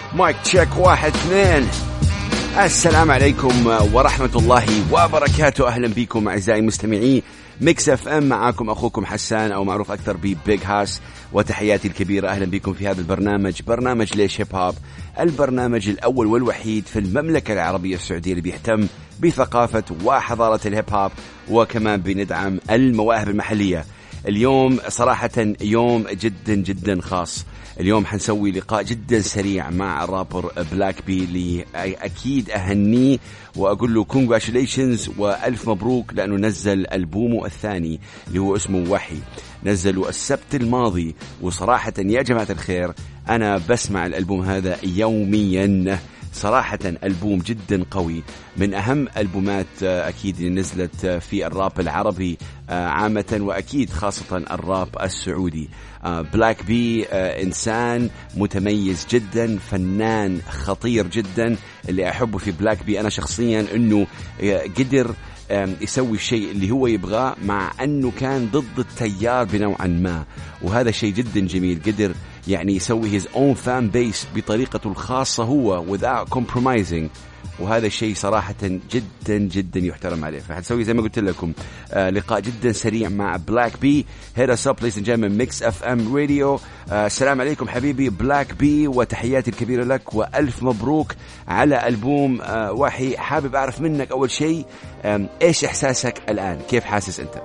مايك تشيك 1 2. السلام عليكم ورحمة الله وبركاته. أهلا بكم أعزائي مستمعي ميكس اف ام. معاكم أخوكم حسان أو معروف أكثر ببيج هاس، وتحياتي الكبيرة. أهلا بكم في هذا البرنامج، برنامج ليش هيب هوب، البرنامج الأول والوحيد في المملكة العربية السعودية اللي بيهتم بثقافة وحضارة الهيب هوب، وكمان بندعم المواهب المحلية. اليوم صراحة يوم جدا جدا خاص. اليوم حنسوي لقاء جدا سريع مع الرابر بلاك بي، اللي أكيد أهنيه وأقول له congratulations وألف مبروك، لأنه نزل ألبومه الثاني اللي هو اسمه وحي، نزله السبت الماضي. وصراحة يا جماعة الخير أنا بسمع الألبوم هذا يوميا. صراحة ألبوم جدا قوي، من أهم ألبومات أكيد اللي نزلت في الراب العربي عامة، وأكيد خاصة الراب السعودي. بلاك بي إنسان متميز جدا، فنان خطير جدا. اللي أحبه في بلاك بي أنا شخصيا أنه قدر يسوي الشيء اللي هو يبغاه، مع أنه كان ضد التيار بنوعا ما، وهذا شيء جدا جميل. قدر يعني يسوي his own fan base بطريقته الخاصة هو without compromising، وهذا الشيء صراحة جدا جدا يحترم عليه. فحنسوي زي ما قلت لكم لقاء جدا سريع مع بلاك بي. هيدا سب ليس جاي ميكس اف ام راديو. السلام عليكم حبيبي بلاك بي، وتحياتي الكبيرة لك وألف مبروك على ألبوم وحي. حابب أعرف منك أول شيء إيش إحساسك الآن، كيف حاسس أنت؟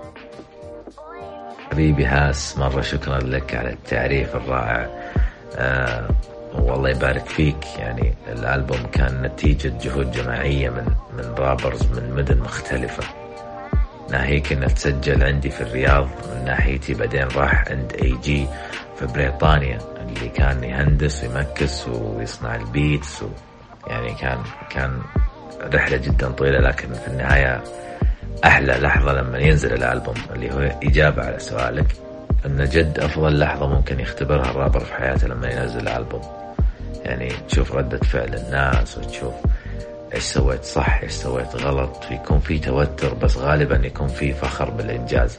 حبيبي هاس، مرة شكرا لك على التعريف الرائع. والله يبارك فيك. يعني الألبوم كان نتيجة جهود جماعية من رابرز من مدن مختلفة. ناهيك إنه تسجل عندي في الرياض من ناحيتي، بعدين راح عند AG في بريطانيا اللي كان يهندس ويمكس ويصنع البيتس يعني كان رحلة جدا طويلة، لكن في النهاية أحلى لحظة لما ينزل الألبوم، اللي هو إجابة على سؤالك، إن جد أفضل لحظة ممكن يختبرها الرابر في حياته لما ينزل الألبوم. يعني تشوف ردة فعل الناس، وتشوف إيش سويت صح إيش سويت غلط، يكون في توتر بس غالبا يكون في فخر بالإنجاز.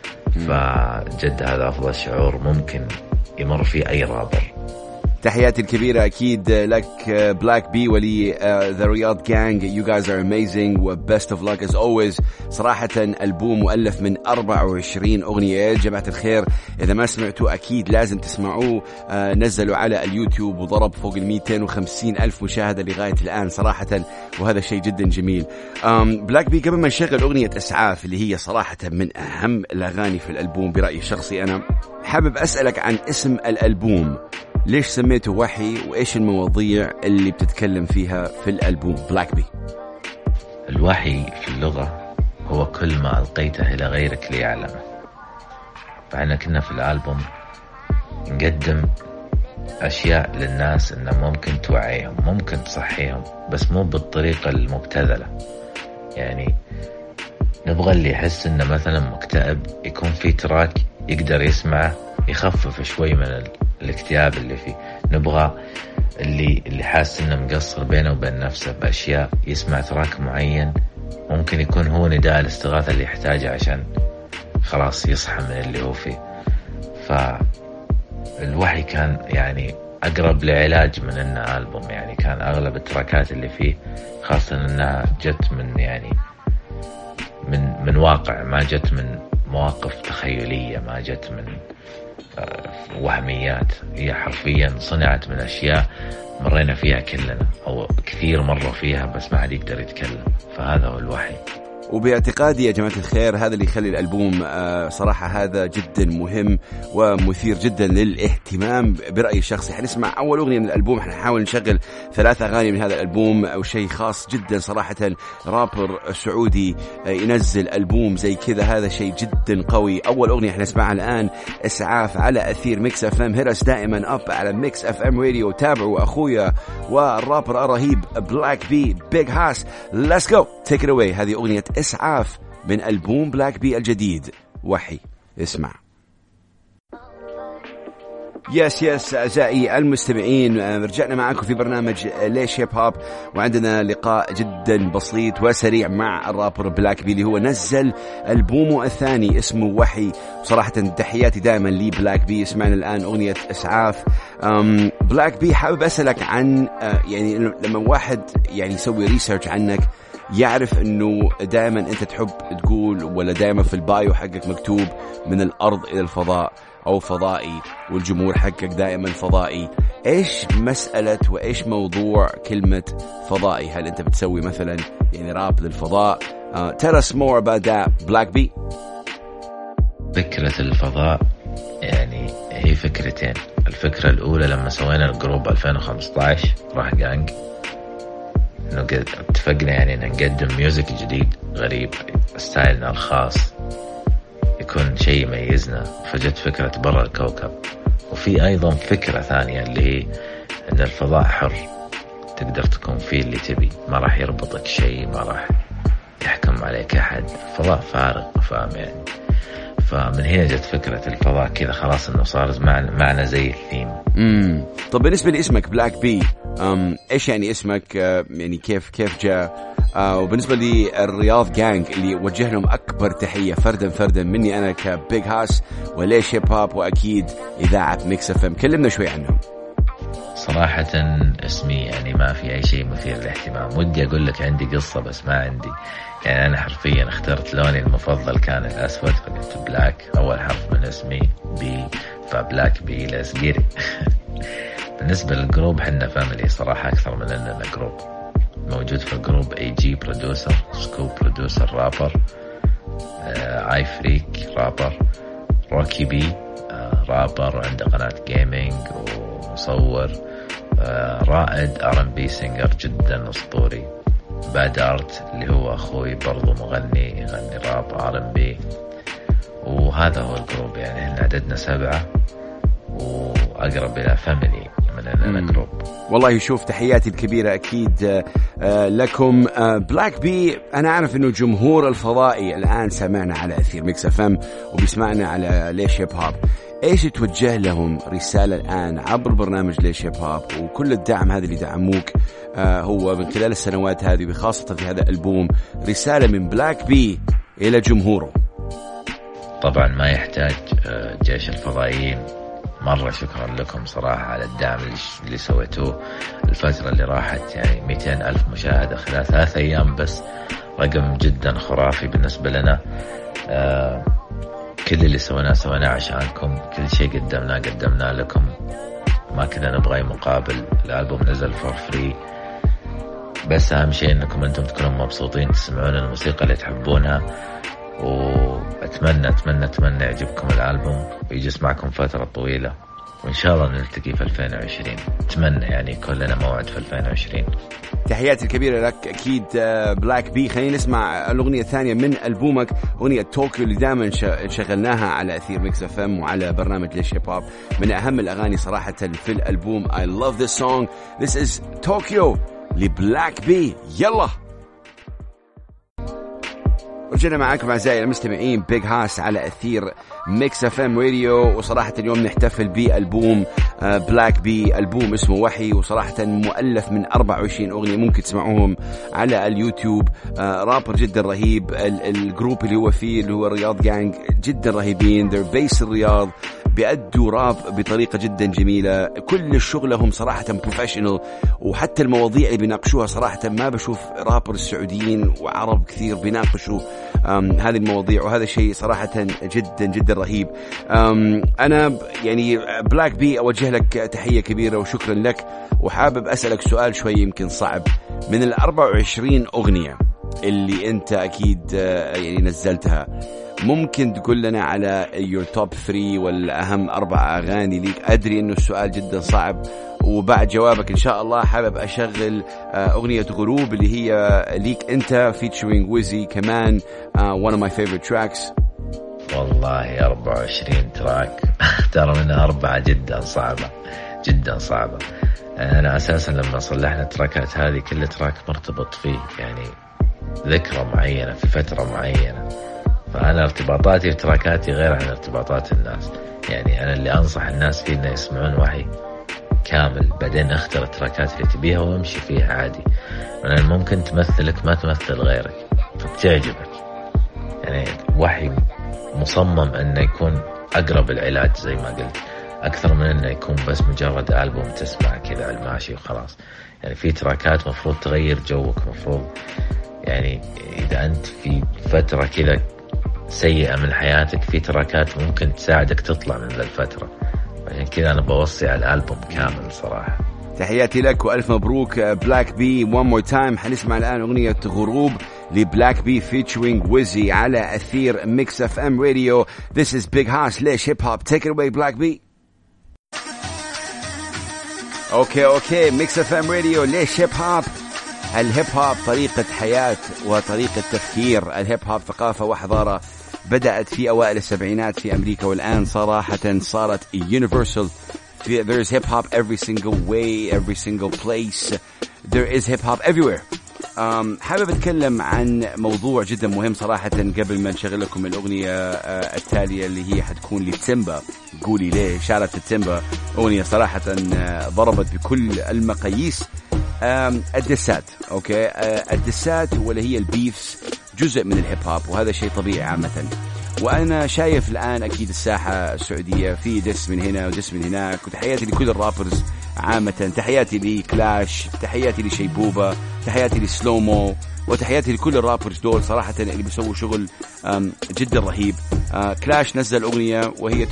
فجد هذا أفضل شعور ممكن يمر فيه أي رابر. تحياتي الكبيرة أكيد لك بلاك بي ولي The Riyadh Gang. You guys are amazing و best of luck as always. صراحة ألبوم مؤلف من 24 أغنية يا جماعة الخير. إذا ما سمعتوا أكيد لازم تسمعوه. نزلوا على اليوتيوب وضرب فوق 250 ألف مشاهدة لغاية الآن صراحة، وهذا شيء جدا جميل. بلاك بي قبل ما نشغل أغنية إسعاف اللي هي صراحة من أهم الأغاني في الألبوم برأيي الشخصي، أنا حابب أسألك عن اسم الألبوم. ليش سميته وحي، وإيش المواضيع اللي بتتكلم فيها في الألبوم بلاك بي؟ الوحي في اللغة هو كل ما ألقيته إلى غيرك ليعلمه. فإحنا كنا في الألبوم نقدم أشياء للناس إنه ممكن توعيهم، ممكن تصحيهم، بس مو بالطريقة المبتذلة. يعني نبغى اللي يحس إنه مثلا مكتئب يكون في تراك يقدر يسمعه يخفف شوي من الاكتئاب اللي فيه. نبغى اللي حاسس انه مقصر بينه وبين نفسه بأشياء يسمع تراك معين ممكن يكون هو نداء الاستغاثة اللي يحتاجه عشان خلاص يصحى من اللي هو فيه. فالوحي كان يعني أقرب لعلاج من إنه ألبوم. يعني كان أغلب التراكات اللي فيه خاصة إنها جت من يعني من واقع، ما جت من مواقف تخيلية، ما جت من وهميات. هي حرفيا صنعت من أشياء مرينا فيها كلنا، أو كثير مروا فيها بس ما حد يقدر يتكلم. فهذا هو الوحي. وباعتقادي يا جماعة الخير هذا اللي يخلي الألبوم صراحة هذا جدا مهم ومثير جدا للاهتمام برأيي الشخصي. حنسمع أول أغنية من الألبوم، حنحاول نشغل 3 أغاني من هذا الألبوم، أو شيء خاص جدا صراحة. رابر سعودي ينزل ألبوم زي كذا، هذا شيء جدا قوي. أول أغنية حنسمعها الآن إسعاف على أثير ميكس اف ام. هرس دائما أب على ميكس اف ام راديو. تابعوا أخويا والرابر الرهيب بلاك بي بيج هاس. Let's go take it away. هذه أغنية إسعاف من ألبوم بلاك بي الجديد وحي. اسمع. يس أعزائي المستمعين، رجعنا معكم في برنامج ليش هيب هوب، وعندنا لقاء جدا بسيط وسريع مع الرابر بلاك بي اللي هو نزل ألبومه الثاني اسمه وحي. صراحة تحياتي دائما لي بلاك بي. سمعنا الآن أغنية إسعاف. بلاك بي حابب أسألك عن يعني لما واحد يعني يسوي ريسيرش عنك يعرف انه دائما انت تحب تقول، ولا دائما في البايو حقك مكتوب من الارض الى الفضاء او فضائي، والجمهور حقك دائما فضائي. ايش مسألة وايش موضوع كلمة فضائي؟ هل انت بتسوي مثلا يعني راب للفضاء؟ tell us more about that Black B. فكرة الفضاء يعني هي فكرتين. الفكرة الاولى لما سوينا الجروب 2015 راح جانج، انه اتفقنا يعني ان نقدم ميوزك جديد غريب ستايلنا الخاص، يكون شيء يميزنا. فجت فكرة برا الكوكب. وفي ايضا فكرة ثانية اللي هي ان الفضاء حر، تقدر تكون فيه اللي تبي، ما راح يربطك شيء، ما راح يحكم عليك احد. الفضاء فارغ، فاهم يعني. فمن هنا جت فكرة الفضاء كذا، خلاص انه صار معنا زي الثيم. طب بالنسبة لاسمك بلاك بي، ايش يعني اسمك؟ يعني كيف جاء؟ وبالنسبة للرياض جانج اللي وجه لهم أكبر تحية فردا مني أنا كبيج هاس وليش هيب هوب، وأكيد إذاعة ميكس اف ام، كلمنا شوي عنهم. صراحة اسمي يعني ما في أي شيء مثير للاهتمام. ودي أقول لك عندي قصة بس ما عندي. يعني أنا حرفيا اخترت لوني المفضل كان الأسود، فقلت بلاك، أول حرف من اسمي بي، فبلاك بي لاسقيري. بالنسبة للجروب حنا فاميلي صراحة أكثر من أننا جروب. موجود في الجروب AG برودوسر، سكوب برودوسر رابر، اي فريك رابر، روكي بي رابر عنده قناة جيمينج ومصور، رائد R&B سينجر جدا أسطوري، باد ارت اللي هو أخوي برضو مغني يغني راب R&B. وهذا هو الجروب. يعني احنا عددنا 7 وأقرب إلى فاميلي من أننا جروب. والله شوف، تحياتي الكبيرة أكيد لكم. بلاك بي، أنا أعرف أنه جمهور الفضائي الآن سمعنا على أثير ميكس اف ام وبيسمعنا على ليش هيب هوب. إيش توجه لهم رسالة الآن عبر برنامج ليش هيب هوب وكل الدعم هذا اللي دعموك هو من خلال السنوات هذه، بخاصة في هذا الألبوم، رسالة من بلاك بي إلى جمهوره؟ طبعا ما يحتاج جيش الفضائيين. مرة شكرا لكم صراحة على الدعم اللي سويتوه الفترة اللي راحت. يعني 200,000 مشاهدة خلال 3 أيام بس، رقم جدا خرافي بالنسبة لنا. كل اللي سويناه عشانكم، كل شيء قدمناه لكم، ما كنا نبغى أي مقابل. الألبوم نزل فور فري، بس أهم شيء أنكم أنتم تكونوا مبسوطين، تسمعون الموسيقى اللي تحبونها. وأتمنى يعجبكم الألبوم ويجي معكم فترة طويلة، وإن شاء الله نلتقي في 2020. أتمنى يعني يكون لنا موعد في 2020. تحياتي الكبيرة لك أكيد بلاك بي. خلينا نسمع الأغنية الثانية من ألبومك، أغنية طوكيو اللي دائما شغلناها على أثير ميكس اف ام وعلى برنامج ليش هيب هوب. من أهم الأغاني صراحة في الألبوم. I love this song. This is Tokyo لبلاك بي. يلا رجعنا معاكم أعزائي المستمعين، بيج هاس على أثير ميكس اف ام راديو. وصراحة اليوم نحتفل بألبوم بلاك بي، ألبوم اسمه وحي، وصراحة مؤلف من 24 أغنية ممكن تسمعوهم على اليوتيوب. رابر جدا رهيب. الجروب اللي هو فيه اللي هو الرياض جانج جدا رهيبين، they're based الرياض، بيأدوا راب بطريقة جدا جميلة. كل شغلهم صراحة بروفيشنال، وحتى المواضيع اللي بيناقشوها صراحة ما بشوف رابر السعوديين وعرب كثير بيناقشوا هذه المواضيع، وهذا شيء صراحة جدا رهيب. أنا يعني بلاك بي أوجه لك تحية كبيرة وشكرا لك. وحابب أسألك سؤال شوي يمكن صعب. من 24 أغنية اللي أنت أكيد يعني نزلتها، ممكن تقول لنا على your top 3 والأهم 4 أغاني ليك؟ أدري أنه السؤال جدا صعب، وبعد جوابك إن شاء الله حابب أشغل أغنية غروب اللي هي ليك أنت featuring ويزي كمان، one of my favorite tracks. والله 24 تراك ترى منها 4 جدا صعبة. أنا أساسا لما صلحنا التراكات هذه كل تراك مرتبط فيه يعني ذكرى معينة في فترة معينة، فأنا ارتباطاتي في تراكاتي غير عن ارتباطات الناس. يعني أنا اللي أنصح الناس فيه إنه يسمعون وحي كامل، بعدين اختر التراكات اللي تبيها وامشي فيها عادي، لأن ممكن تمثلك ما تمثل غيرك فبتعجبك. يعني وحي مصمم أنه يكون أقرب العلاج زي ما قلت، أكثر من أنه يكون بس مجرد ألبوم تسمع كذا على الماشي وخلاص. يعني في تراكات مفروض تغير جوك، مفروض يعني إذا أنت في فترة كذا سيئة من حياتك، في تراكات ممكن تساعدك تطلع من ذا الفترة. عشان كذا أنا بوصي على الألبوم كامل صراحة. تحياتي لك وألف مبروك بلاك بي. one more time حنسمع الآن أغنية غروب لبلاك بي featuring ويزي على أثير ميكس اف ام راديو. This is Big House. ليش هيب هوب. Take it away بلاك بي. اوكي ميكس اف ام راديو. ليش هيب هوب؟ الهيب هوب طريقة حياة وطريقة تفكير. الهيب هوب ثقافة وحضارة بدأت في أوائل السبعينات في أمريكا، والآن صراحة صارت universal. There is hip hop every single way, every single place. There is hip hop everywhere. حابب أتكلم عن موضوع جدا مهم صراحة قبل ما نشغل لكم الأغنية التالية اللي هي حتكون لتيمبا. قولي ليه. شارت التيمبا أغنية صراحة ضربت بكل المقاييس. الدسات الدسات واللي هي البيفس جزء من الهيب هوب، وهذا شيء طبيعي عامة. وأنا شايف الآن أكيد الساحة السعودية في دس من هنا ودس من هناك، وتحياتي لكل الرابرز عامة. تحياتي لكلاش، تحياتي لشيبوبة، تحياتي لسلومو، وتحياتي لكل الرابرز دول صراحة اللي بيسووا شغل جدا رهيب. كلاش نزل أغنية وهي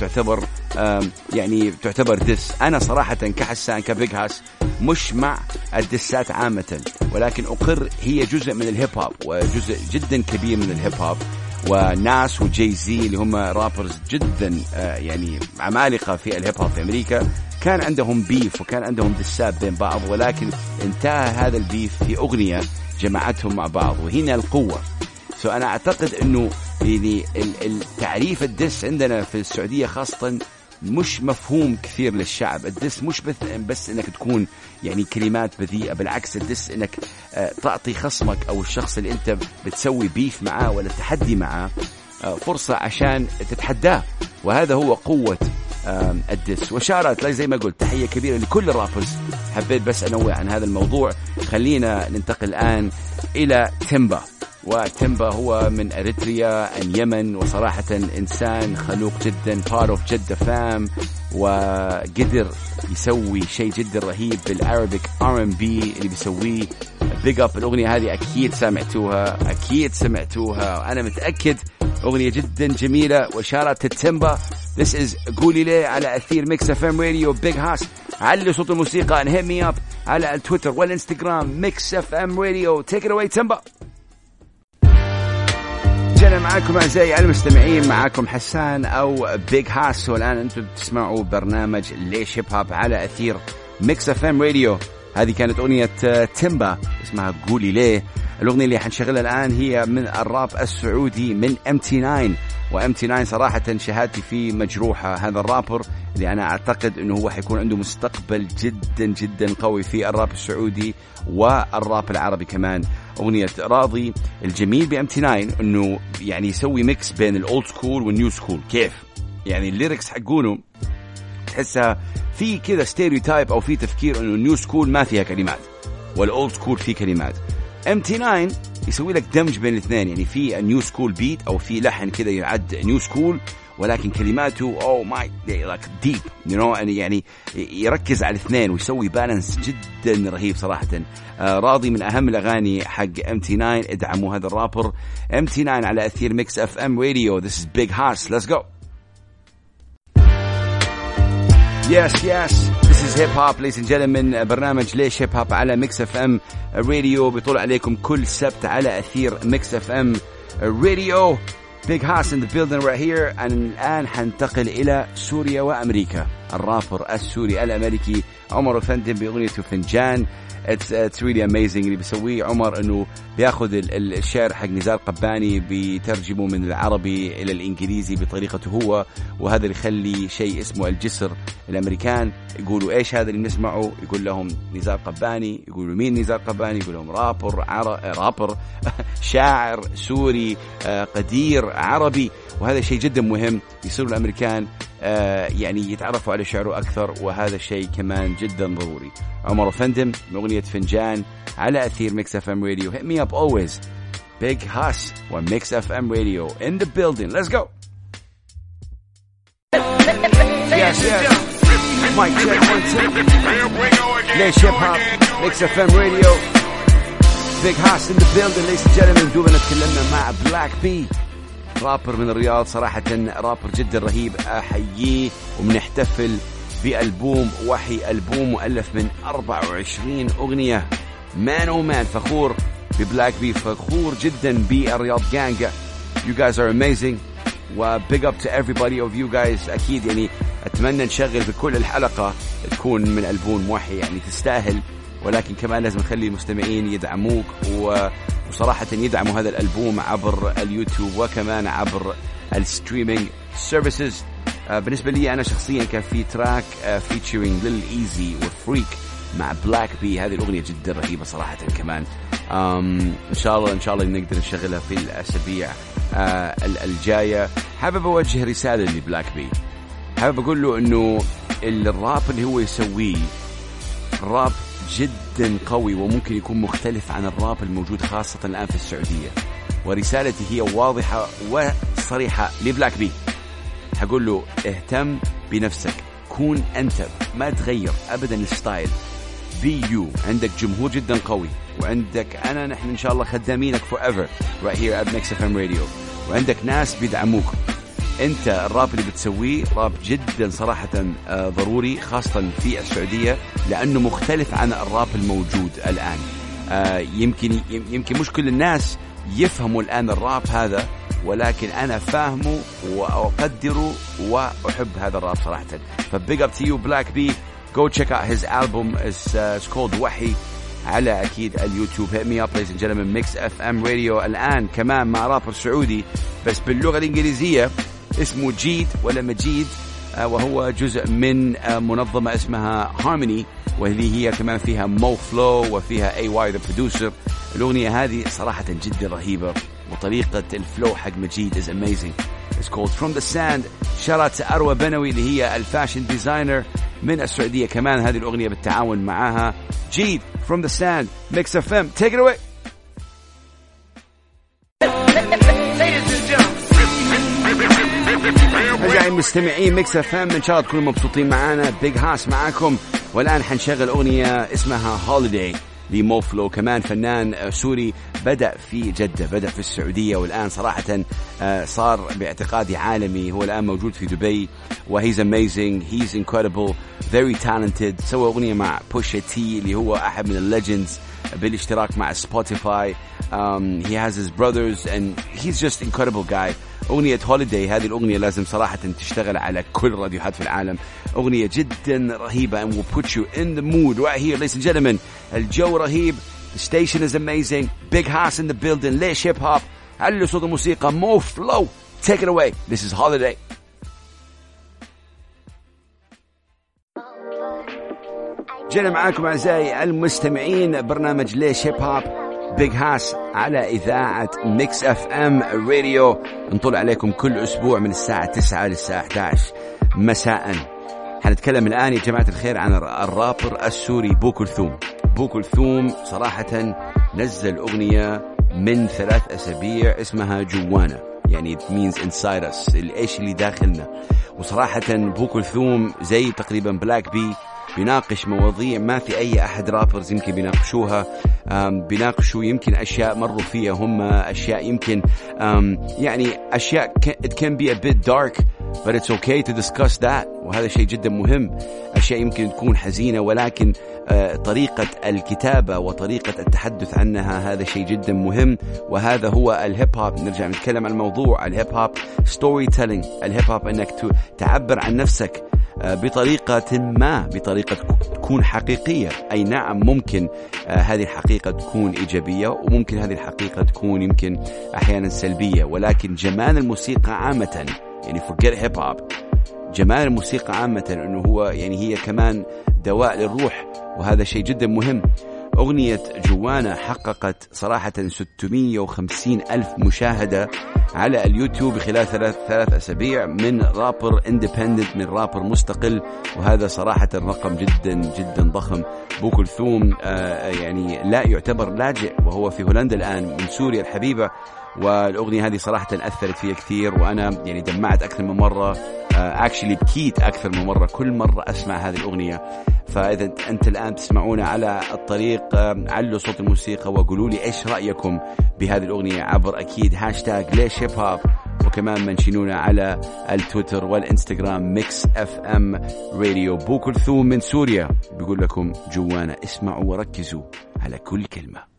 تعتبر دس. أنا صراحة كحسان كبيج هاس مش مع الدسات عامة، ولكن أقر هي جزء من الهيب هوب وجزء جدا كبير من الهيب هوب. وناس وجاي زي اللي هم رابرز جدا عمالقة في الهيب هوب في أمريكا، كان عندهم بيف وكان عندهم دسات بين بعض، ولكن انتهى هذا البيف في أغنية جمعتهم مع بعض، وهنا القوة. أنا أعتقد أنه التعريف الدس عندنا في السعودية خاصة مش مفهوم كثير للشعب. الدس مش بس انك تكون كلمات بذيئة، بالعكس الدس انك تعطي خصمك او الشخص اللي انت بتسوي بيف معاه ولا تحدي معاه فرصة عشان تتحداه، وهذا هو قوة الدس. وشارت زي ما قلت تحية كبيرة لكل الرابرز. حبيت بس أنوع عن هذا الموضوع. خلينا ننتقل الآن إلى تيمبا. وتيمبا هو من أريتريا اليمن، وصراحة إنسان خلوق جدا، part of جدة فام، وقدر يسوي شيء جدا رهيب بالعربيك R&B اللي بيسويه. بيج اب. الأغنية هذه أكيد سمعتوها أنا متأكد. أغنية جدا جميلة وشارت تيمبا. This is قولي ليه على أثير ميكس اف ام راديو. بيج هاس. علي صوت الموسيقى and hit me up على التويتر والإنستغرام ميكس اف ام راديو. Take it away تيمبا. جانا معاكم أعزائي المستمعين، معاكم حسان أو بيج هاس، والآن أنتم تسمعوا برنامج ليش هيب هوب على أثير ميكس اف ام راديو. هذه كانت أغنية تيمبا اسمها قولي ليه. الأغنية اللي حنشغلها الآن هي من الراب السعودي من MT9. وMT9 صراحة شهادتي فيه مجروحة. هذا الرابر اللي أنا أعتقد أنه هو حيكون عنده مستقبل جدا جدا قوي في الراب السعودي والراب العربي كمان. أغنية راضي. الجميل بMT9 أنه يسوي ميكس بين الأولد سكول والنيو سكول. كيف الليركس حقونه تحسها في كذا ستيريوتايب أو في تفكير أنه النيو سكول ما فيها كلمات والأولد سكول فيه كلمات. MT9 يسوي لك دمج بين الاثنين، في نيو سكول بيت أو في لحن كذا يعد نيو سكول، ولكن كلماته ديب يركز على الاثنين ويسوي بالانس جدا رهيب صراحة. راضي من أهم الأغاني حق MT9. ادعموا هذا الرابر MT9 على أثير ميكس اف ام راديو. This is Big House. Let's go. Yes, this is hip hop, ladies and gentlemen. برنامج ليش هيب هوب على ميكس اف ام راديو بيطول عليكم كل سبت على أثير ميكس اف ام راديو. Big House in the building right here. الآن حنتقل إلى سوريا وأمريكا. الرابر السوري الأمريكي عمر أفندي بأغنيته فنجان. It's really amazing اللي بيسويه عمر، إنه بياخذ الشعر حق نزار قباني بيترجمه من العربي إلى الإنجليزي بطريقته هو، وهذا اللي يخلي شيء اسمه الجسر. الأمريكان يقولوا إيش هذا اللي نسمعه؟ يقول لهم نزار قباني. يقولوا مين نزار قباني؟ يقول لهم رابر شاعر سوري قدير عربي. وهذا شيء جدا مهم. يصيروا الأمريكان يعني يتعرفوا على شعره أكثر، وهذا الشيء كمان جدا ضروري. عمر أفندم بأغنية فنجان على أثير ميكس اف ام راديو. hit me up always. Big Haas وميكس اف ام راديو in the building. Let's go. Yes, yes. Mic check 1 2. ليش هيب هوب ميكس اف ام راديو. Big Haas in the building. ladies and gentlemen, دوبنا تكلمنا مع بلاك بي، رابر من الرياض، صراحة رابر جدا رهيب، أحييه. وبنحتفل بألبوم وحي، ألبوم مؤلف من 24 أغنية. مان فخور ببلاك بي، فخور جدا بالرياض جانج. You guys are amazing و big up to everybody of you guys. أكيد يعني أتمنى نشغل بكل الحلقة تكون من ألبوم وحي، يعني تستاهل، ولكن كمان لازم نخلي المستمعين يدعموك وصراحة يدعموا هذا الألبوم عبر اليوتيوب وكمان عبر الستريمينج سيرفيسز. بالنسبة لي أنا شخصيا كان في تراك فيتشرينج للإيزي وفريك مع بلاك بي، هذه الأغنية جدا رهيبة صراحة كمان. إن شاء الله نقدر نشغلها في الأسابيع الجاية. حابب أوجه رسالة لبلاك بي، حابب أقول له إنه الراب اللي هو يسويه راب جدا قوي، وممكن يكون مختلف عن الراب الموجود خاصة الآن في السعودية. ورسالتي هي واضحة وصريحة لبلاك بي، هقول له اهتم بنفسك، كون أنت، ما تغير أبدا الستايل، بي يو. عندك جمهور جدا قوي، وعندك نحن إن شاء الله خدامينك forever right here at Mix FM Radio، وعندك ناس بيدعموك. انت الراب اللي بتسويه راب جدا صراحة ضروري، خاصة في السعودية، لأنه مختلف عن الراب الموجود الآن. يمكن مش كل الناس يفهموا الآن الراب هذا، ولكن أنا فاهمه وأقدره وأحب هذا الراب صراحة. فبيج اب تو يو بلاك بي. go check out his album. it's called وحي على أكيد اليوتيوب. hit me up ladies and gentlemen. Mix FM Radio الآن كمان مع رابر سعودي بس باللغة الإنجليزية، اسمه جيد ولا مجيد، وهو جزء من منظمة اسمها هارموني، وهذه هي كمان فيها مو فلو وفيها AY the producer. الأغنية هذه صراحة جدا رهيبة، وطريقة الفلو حق مجيد is amazing. It's called From the Sand. شارت أروى بنوي اللي هي الفاشن ديزاينر من السعودية، كمان هذه الأغنية بالتعاون معها. جيد From the Sand. Mix FM. Take it away. أعزائي المستمعين ميكس اف ام، ان شاء الله تكونوا مبسوطين معنا. بيج هاس معاكم، والآن حنشغل أغنية اسمها هوليداي لمو فلو، كمان فنان سوري بدأ في جدة، بدأ في السعودية، والآن صراحة صار باعتقادي عالمي. هو الآن موجود في دبي، وهيز amazing, he's incredible, very talented. سوى أغنية مع بوشا تي اللي هو أحد من الليجندز بالاشتراك مع سبوتيفاي. he has his brothers and he's just incredible guy. أغنية هوليداي هذه الأغنية لازم صراحة تشتغل على كل راديوهات في العالم، أغنية جدا رهيبة and will put you in the mood right here ladies and gentlemen. الجو رهيب, the station is amazing. Big Haas in the building. ليش هيب هوب؟ علوا صوت الموسيقى. مو فلو. Take it away. This is Holiday. جينا معاكم أعزائي المستمعين برنامج ليش هيب هوب بيج هاس على إذاعة ميكس اف ام راديو. نطلع عليكم كل أسبوع من الساعة 9 للساعة 11 مساء. حنتكلم الآن يا جماعة الخير عن الرابر السوري بو كلثوم. بو كلثوم صراحة نزل أغنية من 3 أسابيع اسمها جوانا، يعني it means inside us، الإيش اللي داخلنا. وصراحة بو كلثوم زي تقريبا بلاك بي بيناقش مواضيع ما في أي أحد رابرز يمكن بيناقشوها. بيناقشوا يمكن أشياء مروا فيها هم، أشياء يمكن يعني أشياء it can be a bit dark but it's okay to discuss that، وهذا شيء جدا مهم. أشياء يمكن تكون حزينة، ولكن طريقة الكتابة وطريقة التحدث عنها هذا شيء جدا مهم، وهذا هو الهيب هوب. نرجع نتكلم عن الموضوع الهيب هوب ستوري تيلينج. الهيب هوب أنك تعبر عن نفسك بطريقة ما، بطريقة تكون حقيقية. أي نعم ممكن هذه الحقيقة تكون إيجابية، وممكن هذه الحقيقة تكون يمكن أحيانا سلبية، ولكن جمال الموسيقى عامة، يعني forget hip hop، جمال الموسيقى عامة أنه هو يعني هي كمان دواء للروح، وهذا شيء جدا مهم. أغنية جوانا حققت صراحة 650 ألف مشاهدة على اليوتيوب خلال ثلاث أسابيع من رابر اندبندنت، من رابر مستقل، وهذا صراحة رقم جدا جدا ضخم. بو كلثوم يعني لا يعتبر لاجئ، وهو في هولندا الآن، من سوريا الحبيبة، والأغنية هذه صراحة أثرت فيها كثير، وأنا يعني دمعت أكثر من مرة، actually بكيت أكثر من مرة كل مرة أسمع هذه الأغنية. فإذا أنت الآن تسمعونا على الطريق، علوا صوت الموسيقى وقولوا لي إيش رأيكم بهذه الأغنية عبر أكيد هاشتاج ليش هيب هوب، وكمان منشنونا على التويتر والإنستغرام ميكس اف ام راديو. بو كلثوم من سوريا بيقول لكم جوانا، اسمعوا وركزوا على كل كلمة.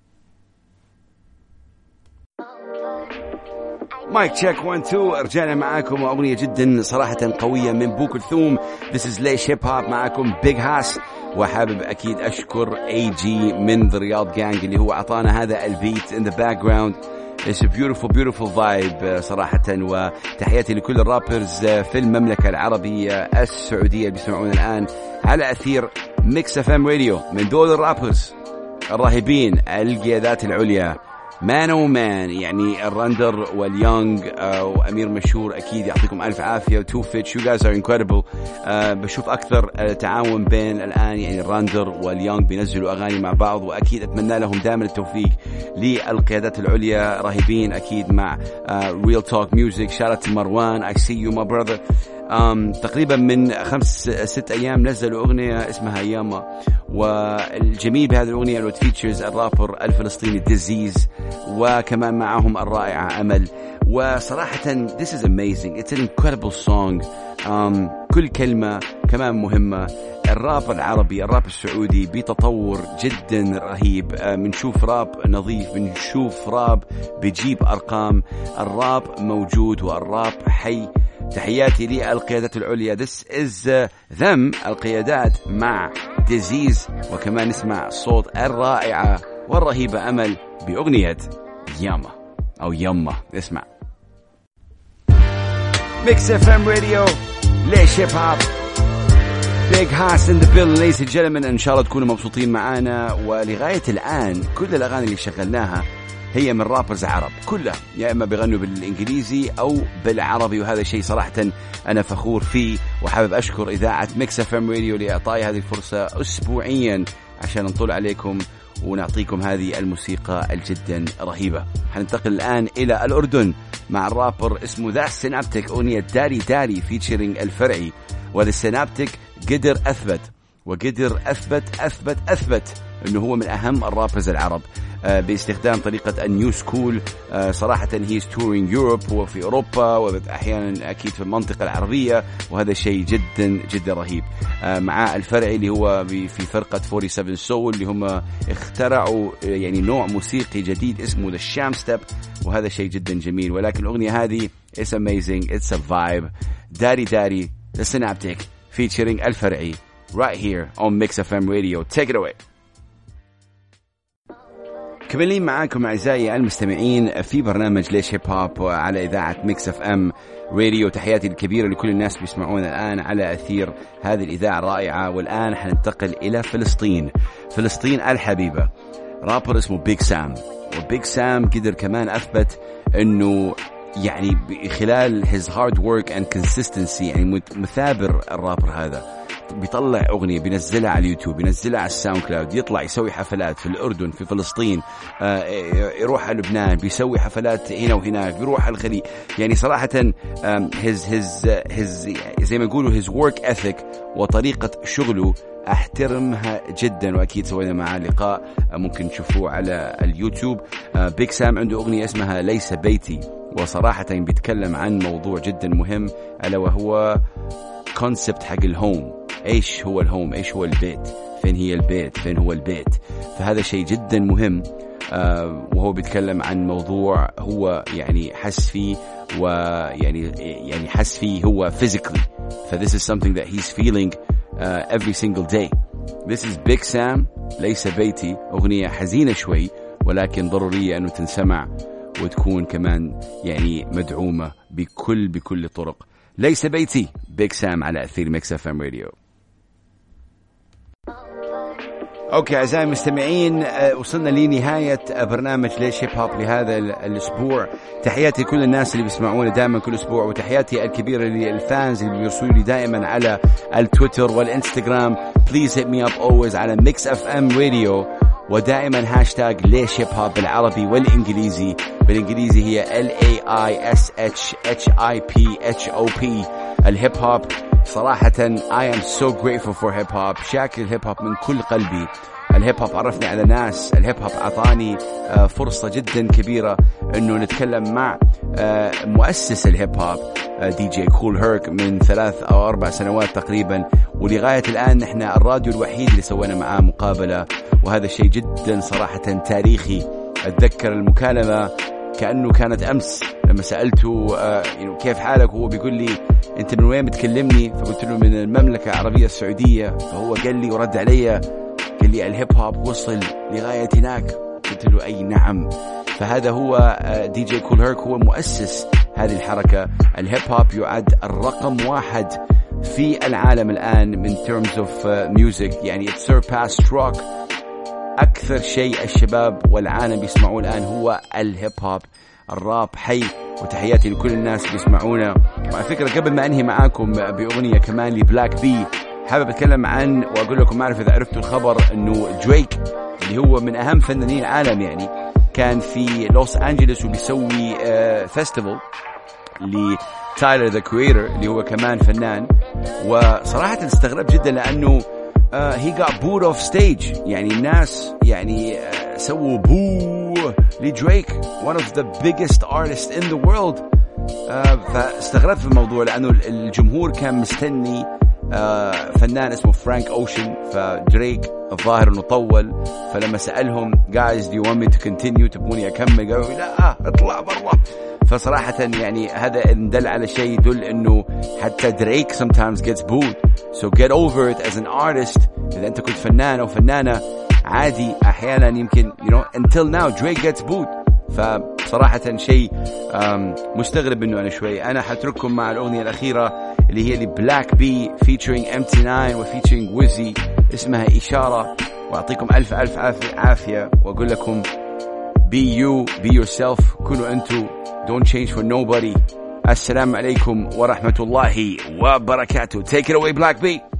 مايك تشيك 1 2، رجعنا معاكم وأغنية جدا صراحة قوية من بو كلثوم. This is ليش هيب هوب، معاكم بيج هاس، وحابب أكيد أشكر AG من The Riyadh Gang اللي هو أعطانا هذا البيت in the background. It's a beautiful vibe صراحة. وتحياتي لكل الرابرز في المملكة العربية السعودية اللي بيسمعون الآن على أثير ميكس اف ام راديو، من دول الرابرز الراهبين القيادات العليا، مان ومان، يعني الراندر واليونغ وأمير مشهور، أكيد يعطيكم ألف عافية. وتو فيتش، you guys are incredible. بشوف أكثر تعاون بين الآن، يعني الراندر واليونغ بينزلوا أغاني مع بعض، وأكيد أتمنى لهم دائما التوفيق. للقيادات العليا راهبين أكيد مع Real Talk Music. shout out to مروان، I see you my brother. تقريبا من 5-6 أيام نزلوا أغنية اسمها ياما، والجميل بهذه الأغنية اللي تفيتشرز الرابر الفلسطيني ديزيز، وكمان معهم الرائعة أمل. وصراحة this is amazing, it's an incredible song. كل كلمة كمان مهمة. الراب العربي، الراب السعودي بتطور جدا رهيب. بنشوف راب نظيف، بنشوف راب بيجيب أرقام. الراب موجود والراب حي. تحياتي للقيادات العليا. This is them القيادات مع ديزيز، وكمان نسمع صوت الرائعة والرهيبة أمل بأغنية ياما أو يما. اسمع ميكس اف ام راديو، ليش هيب هوب، بيج هاس ان ذا بيل. ليس الجلمن، ان شاء الله تكونوا مبسوطين معانا. ولغاية الآن كل الأغاني اللي شغلناها هي من رابرز عرب كلها، يا إما بيغنوا بالإنجليزي أو بالعربي، وهذا شيء صراحة أنا فخور فيه. وحابب أشكر إذاعة ميكس اف ام راديو لإعطائي هذه الفرصة أسبوعيا عشان نطلع عليكم ونعطيكم هذه الموسيقى الجدا رهيبة. حننتقل الآن إلى الأردن مع الرابر اسمه ذا سينابتيك، أغنية داري داري فيتشرينج الفرعي. وذا السينابتيك قدر أثبت أنه هو من أهم الرابرز العرب باستخدام طريقة النيو سكول. صراحة he's touring Europe، هو في أوروبا وأحيانا أكيد في المنطقة العربية، وهذا شيء جدا جدا رهيب. مع الفرعي اللي هو في فرقة 47 Soul، اللي هم اخترعوا يعني نوع موسيقي جديد اسمه The Sham Step، وهذا شيء جدا جميل. ولكن الأغنية هذه it's amazing, it's a vibe. داري داري The Synaptic featuring الفرعي right here on Mix FM Radio. Take it away. كملين معاكم أعزائي المستمعين في برنامج ليش هيب هوب على إذاعة ميكس اف ام راديو. تحياتي الكبيرة لكل الناس بيسمعون الآن على أثير هذه الإذاعة الرائعة. والآن حننتقل إلى فلسطين الحبيبة. رابر اسمه بيج سام، وبيج سام قدر كمان أثبت أنه يعني خلال his hard work and consistency، يعني مثابر الرابر هذا، بيطلع أغنية بينزلها على اليوتيوب، بينزلها على الساوند كلاود، يطلع يسوي حفلات في الأردن، في فلسطين، يروح على لبنان، بيسوي حفلات هنا وهناك، بيروح على الخليج. يعني صراحة his زي ما يقولوا his work ethic وطريقة شغله احترمها جدا. واكيد سوينا معاه لقاء ممكن تشوفوه على اليوتيوب. بيج سام عنده أغنية اسمها ليس بيتي، وصراحة بيتكلم عن موضوع جدا مهم، ألا وهو كونسبت حق الهوم. ايش هو الهوم؟ ايش هو البيت؟ فين هي البيت؟ فين هو البيت؟ فهذا شيء جدا مهم. وهو بيتكلم عن موضوع هو يعني حس فيه، ويعني حس فيه هو physically. this is something that he's feeling every single day. This is Big Sam ليس بيتي، أغنية حزينة شوي ولكن ضرورية أنه تنسمع وتكون كمان يعني مدعومة بكل الطرق. ليس بيتي، بيج سام على أثير ميكس اف ام راديو. اوكي اعزائي المستمعين، وصلنا لنهاية برنامج ليش هيب هوب لهذا الاسبوع. تحياتي لكل الناس اللي بيسمعونا دائما كل اسبوع، وتحياتي الكبيرة للفانز اللي بيرسلوا لي دائما على التويتر والانستغرام. Please hit me up always على Mix FM Radio، ودائما هاشتاج ليش هيب هوب بالعربي والانجليزي. بالانجليزي هي LAISHHIPHOP. الهيب هوب صراحة I am so grateful for hip hop. شاكر الهيب هوب من كل قلبي. الهيب هوب عرفني على ناس، الهيب هوب عطاني فرصة جدا كبيرة انه نتكلم مع مؤسس الهيب هوب دي جي كول هيرك من 3 أو 4 سنوات تقريبا، ولغاية الآن نحن الراديو الوحيد اللي سوينا معاه مقابلة، وهذا الشيء جدا صراحة تاريخي. أتذكر المكالمة كأنه كانت أمس لما سألته كيف حالك، وهو بيقول لي أنت من وين بتكلمني؟ فقلت له من المملكة العربية السعودية. فهو قال لي ورد علي قال لي الهيب هوب وصل لغاية هناك. قلت له أي نعم. فهذا هو دي جي كول هيرك، هو مؤسس هذه الحركة. الهيب هوب يعد الرقم 1 في العالم الآن من terms of music، يعني it surpassed rock. أكثر شيء الشباب والعالم بيسمعوه الآن هو الهيب هوب. الراب حي، وتحياتي لكل الناس اللي بيسمعونا. وعلى فكرة قبل ما أنهي معاكم بأغنية كمان لبلاك بي، حابب أتكلم عن وأقول لكم، ما أعرف إذا عرفتوا الخبر، أنه دريك اللي هو من أهم فنانين العالم يعني كان في لوس أنجلوس وبيسوي فيستيفال لتايلر ذا كريتور اللي هو كمان فنان. وصراحة استغرب جدا لأنه he got booed off stage. يعني الناس يعني سووا بو لدريك one of the biggest artists in the world. فاستغربت في الموضوع لأنه الجمهور كان مستني فنان اسمه فرانك أوشن. فدريك الظاهر انه طول، فلما سألهم guys do you want me to continue، تبوني أكمل؟ قالوا لا اطلع برا. فصراحة يعني هذا دل على شيء، يدل انه حتى دريك sometimes gets booed. So get over it as an artist. إذا أنت كنت فنان أو فنانة عادي أحيانا يمكن until now Drake gets booed. فصراحة شيء مستغرب منه أنا شوي. أنا حترككم مع الأغنية الأخيرة اللي هي لبلاك بي featuring MT9 و featuring ويزي، اسمها إشارة. وأعطيكم ألف عافية، وأقول لكم be you, be yourself. كونوا أنتوا، don't change for nobody. السلام عليكم ورحمة الله وبركاته. Take it away Black B.